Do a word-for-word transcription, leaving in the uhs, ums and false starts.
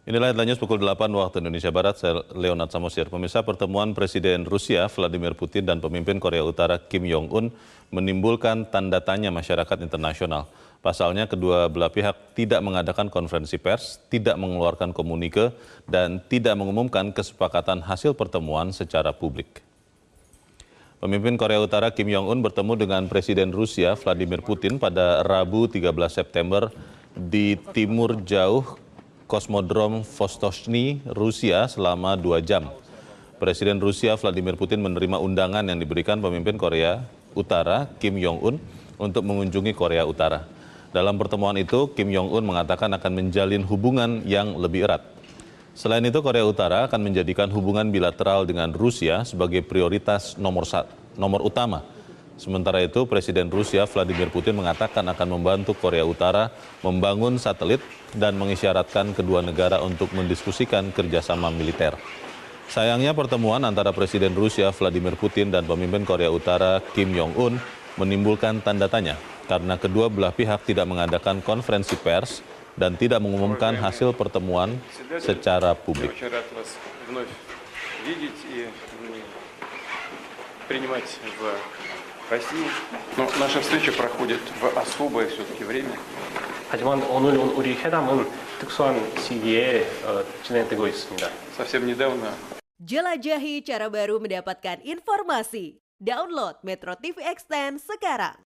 Inilah headline news pukul delapan waktu Indonesia Barat, saya Leonard Samosir. Pemirsa, pertemuan Presiden Rusia Vladimir Putin dan pemimpin Korea Utara Kim Jong-un menimbulkan tanda tanya masyarakat internasional. Pasalnya, kedua belah pihak tidak mengadakan konferensi pers, tidak mengeluarkan komunike, dan tidak mengumumkan kesepakatan hasil pertemuan secara publik. Pemimpin Korea Utara Kim Jong-un bertemu dengan Presiden Rusia Vladimir Putin pada Rabu tiga belas September di timur jauh Kosmodrom Vostochny, Rusia selama dua jam. Presiden Rusia Vladimir Putin menerima undangan yang diberikan pemimpin Korea Utara Kim Jong-un untuk mengunjungi Korea Utara. Dalam pertemuan itu, Kim Jong-un mengatakan akan menjalin hubungan yang lebih erat. Selain itu, Korea Utara akan menjadikan hubungan bilateral dengan Rusia sebagai prioritas nomor, nomor utama. Sementara itu, Presiden Rusia Vladimir Putin mengatakan akan membantu Korea Utara membangun satelit dan mengisyaratkan kedua negara untuk mendiskusikan kerjasama militer. Sayangnya, pertemuan antara Presiden Rusia Vladimir Putin dan pemimpin Korea Utara Kim Jong-un menimbulkan tanda tanya karena kedua belah pihak tidak mengadakan konferensi pers dan tidak mengumumkan hasil pertemuan secara publik. России. Но наша встреча проходит в особое все-таки время. 하지만 오늘 우리 회담은 특수한 시기에 어, 진행되고 있습니다. Совсем недавно. Jelajahi cara baru mendapatkan informasi. Download Metro T V Extend sekarang.